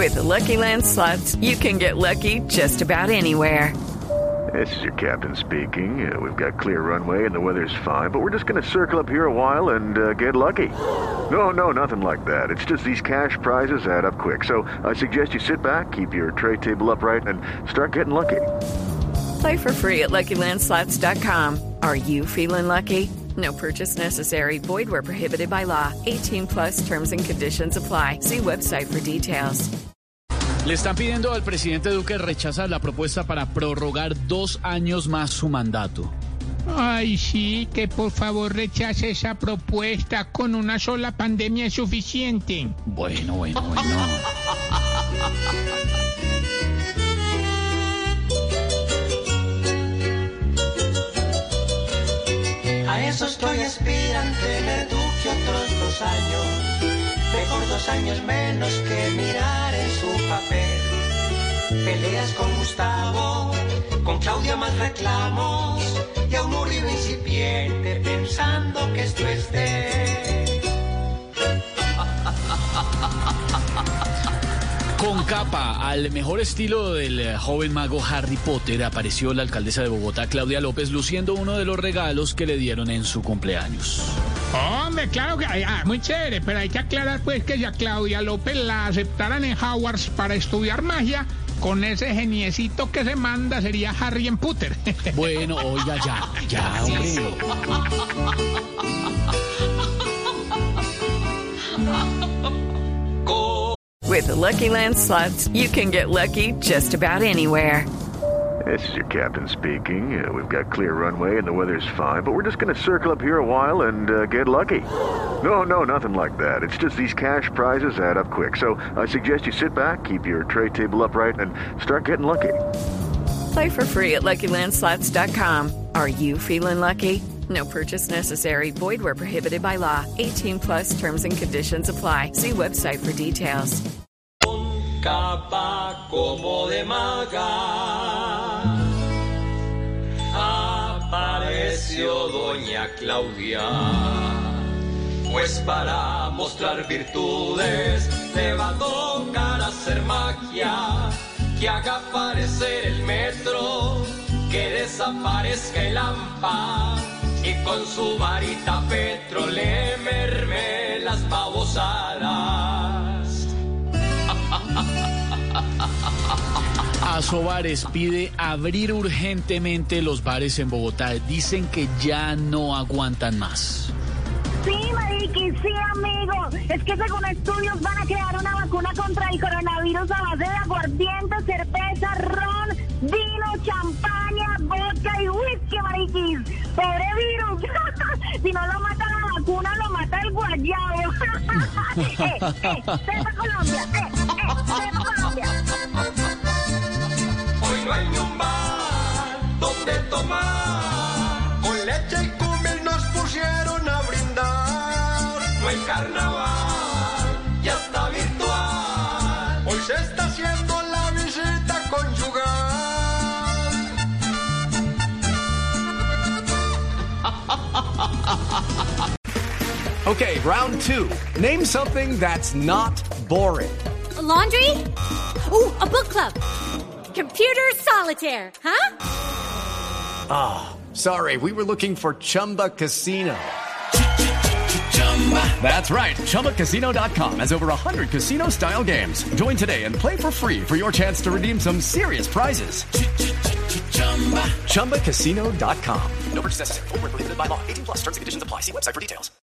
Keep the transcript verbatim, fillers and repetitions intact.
With the Lucky Land Slots, you can get lucky just about anywhere. This is your captain speaking. Uh, we've got clear runway and the weather's fine, but we're just going to circle up here a while and uh, get lucky. No, no, nothing like that. It's just these cash prizes add up quick. So I suggest you sit back, keep your tray table upright, and start getting lucky. Play for free at Lucky Land Slots dot com. Are you feeling lucky? No purchase necessary. Void where prohibited by law. eighteen plus terms and conditions apply. See website for details. Le están pidiendo al presidente Duque rechazar la propuesta para prorrogar dos años más su mandato. Ay, sí, que por favor rechace esa propuesta. Con una sola pandemia es suficiente. Bueno, bueno, bueno. A eso estoy aspirante, tener Duque otros dos años. Mejor dos años menos que mirar en su papel. Peleas con Gustavo, con Claudia más reclamos, y a un Uribe incipiente pensando que esto es de... Con capa, al mejor estilo del joven mago Harry Potter, apareció la alcaldesa de Bogotá, Claudia López, luciendo uno de los regalos que le dieron en su cumpleaños. Hombre, claro que ah, muy chévere, pero hay que aclarar pues que si a Claudia López la aceptaran en Hogwarts para estudiar magia, con ese geniecito que se manda sería Harry en Potter. Bueno, oiga, ya, ya, hombre. With the Lucky Land Slots, you can get lucky just about anywhere. This is your captain speaking. Uh, we've got clear runway and the weather's fine, but we're just going to circle up here a while and uh, get lucky. No, no, nothing like that. It's just these cash prizes add up quick. So I suggest you sit back, keep your tray table upright, and start getting lucky. Play for free at Lucky Land Slots dot com. Are you feeling lucky? No purchase necessary. Void where prohibited by law. eighteen plus terms and conditions apply. See website for details. Con capa como de maga apareció doña Claudia, pues para mostrar virtudes le va a tocar hacer magia, que haga aparecer el metro, que desaparezca el AMPA, y con su varita Petro le merme las babosadas. Asobares pide abrir urgentemente los bares en Bogotá. Dicen que ya no aguantan más. Sí, Mariqui, sí, amigo. Es que según estudios van a crear una vacuna contra el coronavirus a base de aguardiente, cerveza, ron, vino, champaña, vodka y whisky, Mariquis. Pobre virus. Si no lo mata la vacuna, lo mata el guayabo. eh, eh, ¡Sepa Colombia! ¡Eh, eh, sepa Colombia! Hoy no hay ni un bar donde tomar, con leche y cumbia nos pusieron a brindar. No hay carnaval, ya está virtual, hoy se está haciendo la visita conyugal. Okay, round two. Name something that's not boring. A laundry? Ooh, a book club. Computer solitaire, huh? Ah, oh, sorry, we were looking for Chumba Casino. That's right, Chumba Casino dot com has over one hundred casino-style games. Join today and play for free for your chance to redeem some serious prizes. Chumba Casino dot com. No purchase necessary. Void where prohibited by law. eighteen plus terms and conditions apply. See website for details.